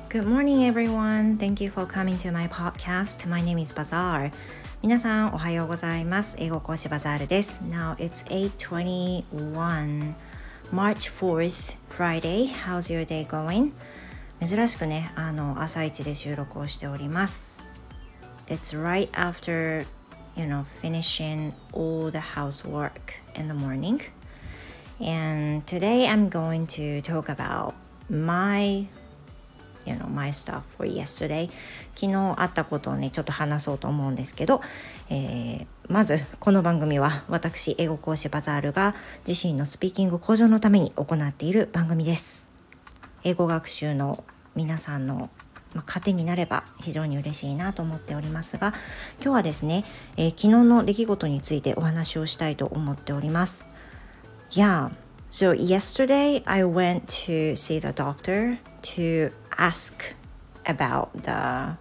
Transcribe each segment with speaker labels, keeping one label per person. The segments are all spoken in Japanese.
Speaker 1: Good morning, everyone. Thank you for coming to my podcast. My name is Bazaar. 皆さんおはようございます。英語講師バザールです。Now it's 8:21 March 4th, Friday. How's your day going? 珍しくね、朝一で収録をしております。It's right after, finishing all the housework in the morning. And today I'm going to talk about my stuff for yesterday. 昨日あったことをねちょっと話そうと思うんですけど、まずこの番組は私英語講師バザールが自身のスピーキング向上のために行っている番組です。英語学習の皆さんの糧になれば非常に嬉しいなと思っておりますが、今日はですね、昨日の出来事についてお話をしたいと思っております。So yesterday I went to see the doctor to ask about the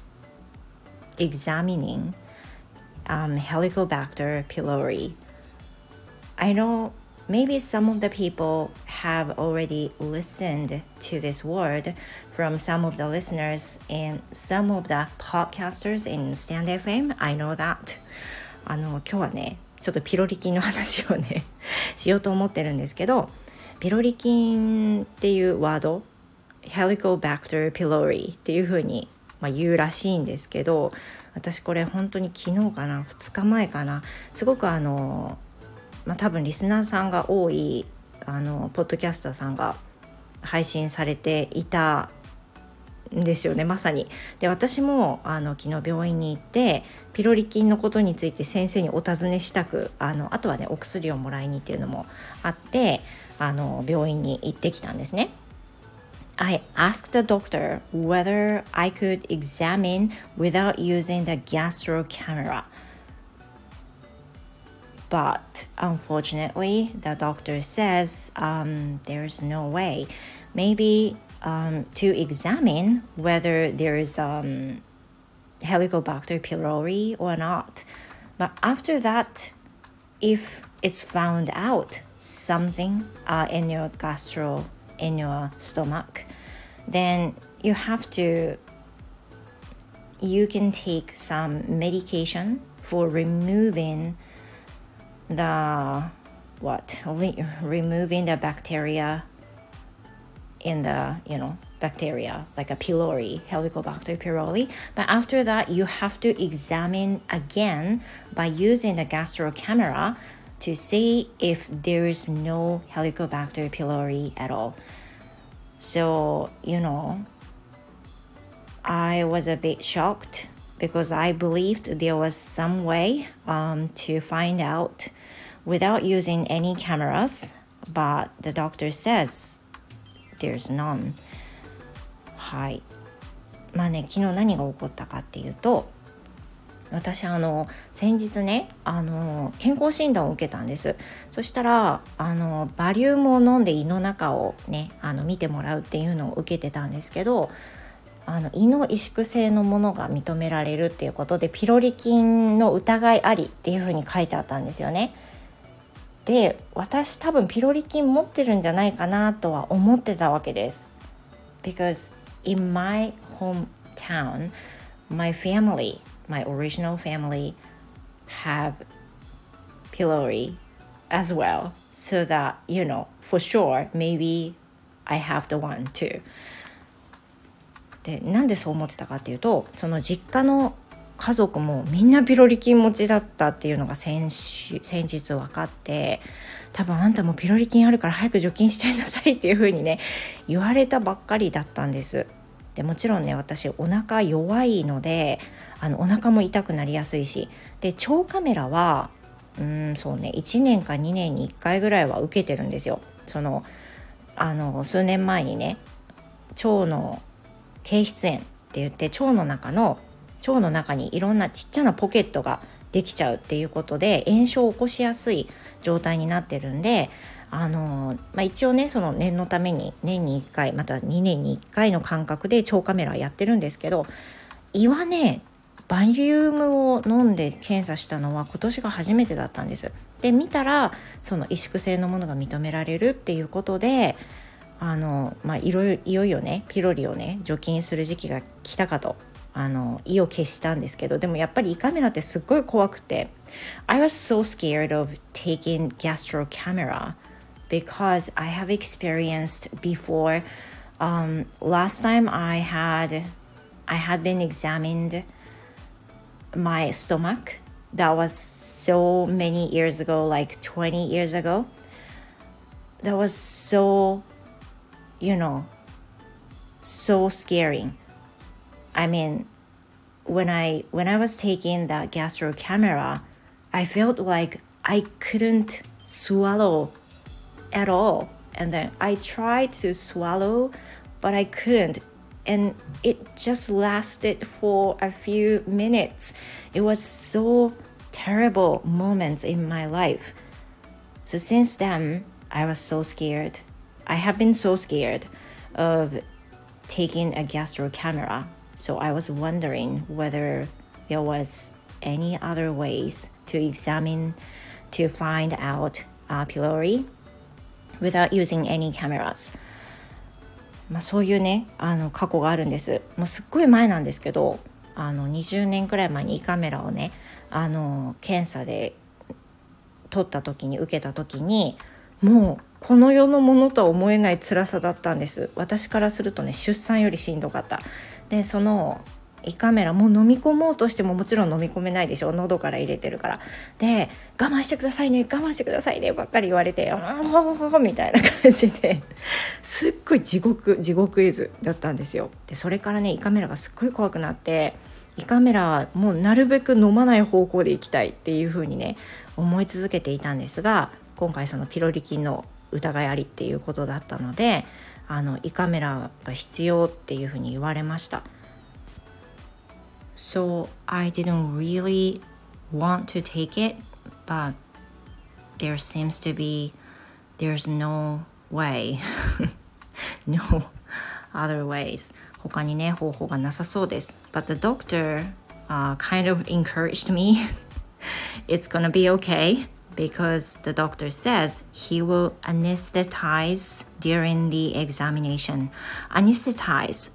Speaker 1: examining Helicobacter pylori. I know maybe some of the people have already listened to this word from some of the listeners and some of the podcasters in Stand FM. I know that. 今日はねちょっとピロリ菌の話をねしようと思ってるんですけど、ピロリ菌っていうワード Helicobacter pylori っていう風に言うらしいんですけど、私これ本当に昨日かな2日前かな、すごく多分リスナーさんが多いポッドキャスターさんが配信されていたんですよね、まさに。で、私も昨日病院に行ってピロリ菌のことについて先生にお尋ねしたく、あとはねお薬をもらいにっていうのもあって病院に行ってきたんですね。I asked the doctor whether I could examine without using the gastro camera. But unfortunately, the doctor says there's no way. Maybe to examine whether there is Helicobacter pylori or not. But after that, if it's found out something in your in your stomach, then you can take some medication for removing the bacteria in the bacteria like a pylori, Helicobacter pylori. But after that, you have to examine again by using the gastro camera to see if there is no Helicobacter pylori at all. So, I was a bit shocked because I believed there was some way to find out without using any cameras, but the doctor says there's none. はい。昨日何が起こったかっていうと、私先日ね健康診断を受けたんです。そしたらバリウムを飲んで胃の中をね見てもらうっていうのを受けてたんですけど、胃の萎縮性のものが認められるっていうことでピロリ菌の疑いありっていうふうに書いてあったんですよね。で、私多分ピロリ菌持ってるんじゃないかなとは思ってたわけです。Because in my hometown, my original family have pylori as well. So that, for sure, maybe I have the one too. で、なんでそう思ってたかっていうと、その実家の家族もみんなピロリ菌持ちだったっていうのが先日分かって、多分あんたもピロリ菌あるから早く除菌しちゃいなさいっていう風にね言われたばっかりだったんです。で、もちろんね私お腹弱いのでお腹も痛くなりやすいし、で腸カメラは1年か2年に1回ぐらいは受けてるんですよ。数年前にね腸の憩室炎って言って腸の中にいろんなちっちゃなポケットができちゃうっていうことで炎症を起こしやすい状態になってるんで、一応ねその念のために年に1回また2年に1回の間隔で腸カメラやってるんですけど、胃はねバリウムを飲んで検査したのは今年が初めてだったんです。で見たらその萎縮性のものが認められるっていうことでいよいよねピロリをね除菌する時期が来たかと意を決したんですけど、でもやっぱり胃カメラってすっごい怖くて I was so scared of taking gastro camera because I have experienced before. Last time I had been examined my stomach. That was so many years ago, like 20 years ago. That was so, so scaring. I mean, when I was taking the gastro camera, I felt like I couldn't swallow at all. And then I tried to swallow, but I couldn't. And it just lasted for a few minutes. It was so terrible moments in my life. So since then, I was so scared. I have been so scared of taking a gastro camera. So I was wondering whether there was any other ways to examine to find out pylori without using any cameras. そういうね過去があるんです。もうすっごい前なんですけど20年くらい前に胃カメラをね検査で受けた時にもうこの世のものとは思えない辛さだったんです。私からするとね出産よりしんどかった。でその胃カメラもう飲み込もうとしてももちろん飲み込めないでしょ、喉から入れてるから。で我慢してくださいねばっかり言われてみたいな感じですっごい地獄絵図だったんですよ。でそれからね胃カメラがすっごい怖くなって、胃カメラもうなるべく飲まない方向で行きたいっていう風にね思い続けていたんですが、今回そのピロリ菌の疑いありっていうことだったので胃カメラが必要っていう風に言われました。So I didn't really want to take it, but there's no way no other ways. 他にね方法がなさそうです。But the doctor kind of encouraged me. It's gonna be okay because the doctor says he will anesthetize during the examination. Anesthetize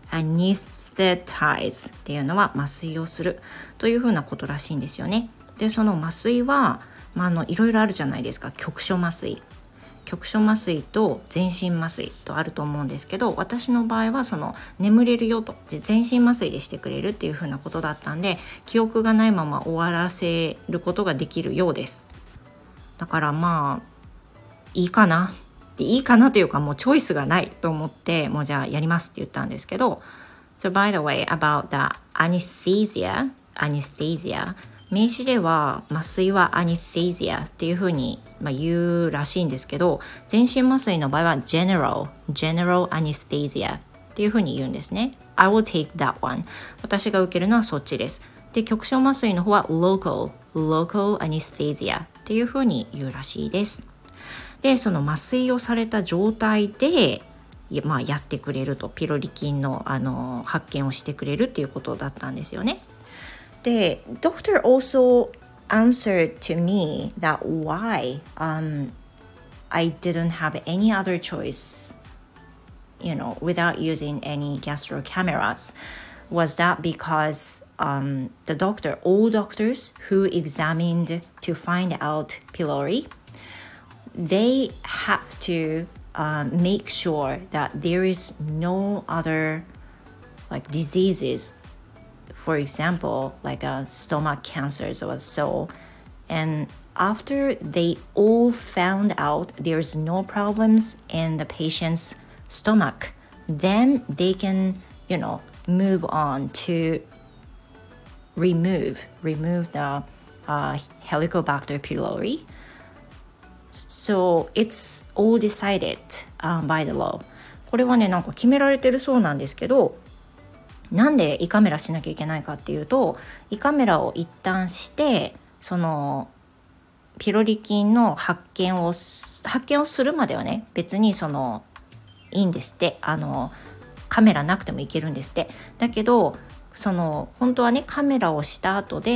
Speaker 1: っていうのは麻酔をするというふうなことらしいんですよね。でその麻酔はいろいろあるじゃないですか。局所麻酔と全身麻酔とあると思うんですけど、私の場合はその眠れるよと全身麻酔でしてくれるっていうふうなことだったんで、記憶がないまま終わらせることができるようです。だからいいかなというかもうチョイスがないと思ってもうじゃあやりますって言ったんですけど、 So by the way about the anesthesia 名詞では麻酔は anesthesia っていうふうに言うらしいんですけど、全身麻酔の場合は general anesthesia っていうふうに言うんですね。 I will take that one. 私が受けるのはそっちです。で局所麻酔の方は local anesthesia っていうふうに言うらしいです。でその麻酔をされた状態でやってくれると、ピロリ菌の、発見をしてくれるっていうことだったんですよね。で Doctor also answered to me that why I didn't have any other choice without using any gastro cameras was that because all doctors who examined to find out pylori, they have to make sure that there is no other diseases, for example like stomach cancers or so, and after they all found out there's no problems in the patient's stomach, then they can move on to remove the Helicobacter pylori. So it's all decided by the law. これはねなんか決められてるそうなんですけど、なんで胃カメラしなきゃいけないかっていうと、胃カメラを一旦してそのピロリ菌の発見をするまではね別にいいんですって。カメラなくてもいけるんですって。だけど本当はねカメラをした後で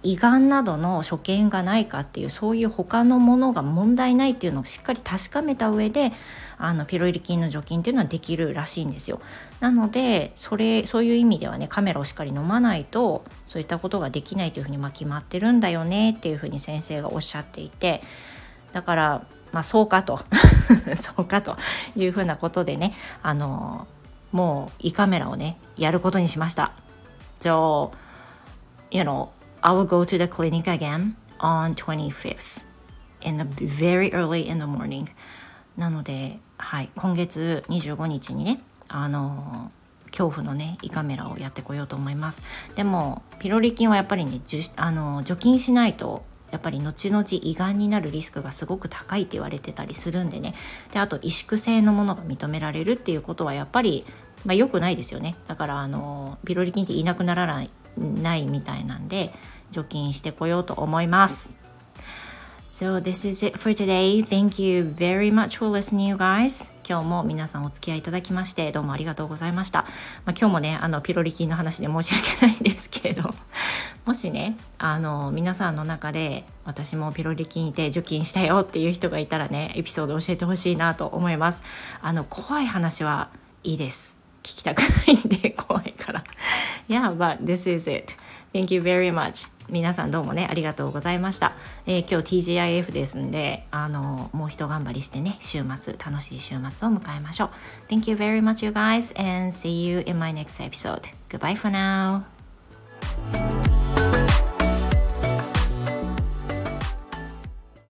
Speaker 1: 胃がんなどの所見がないかっていう、そういう他のものが問題ないっていうのをしっかり確かめた上でピロリ菌の除菌っていうのはできるらしいんですよ。なのでそういう意味ではね、カメラをしっかり飲まないとそういったことができないというふうに決まってるんだよねっていうふうに先生がおっしゃっていて、だからそうかとそうかというふうなことでね、もう胃カメラをねやることにしました。So, I will go to the clinic again on 25th in the very early in the morning. なので、今月25日にね、恐怖のね胃カメラをやってこようと思います。でもピロリ菌はやっぱりね除菌しないとやっぱり後々胃がんになるリスクがすごく高いって言われてたりするんでね。であと萎縮性のものが認められるっていうことはやっぱり良くないですよね。だからピロリ菌っていなくならないみたいなんで除菌してこようと思います。So this is it for today. Thank you very much for listening, you guys. 今日も皆さんお付き合いいただきましてどうもありがとうございました。今日もねピロリ菌の話で申し訳ないんですけれど、もしね皆さんの中で私もピロリ菌いて除菌したよっていう人がいたらね、エピソード教えてほしいなと思います。怖い話はいいです。聞きたくないんで怖いから。Yeah, but this is it. Thank you very much. 皆さんどうもねありがとうございました。今日 TGIF ですんでもう一頑張りしてね、楽しい週末を迎えましょう。Thank you very much, you guys, and see you in my next episode. Goodbye for now.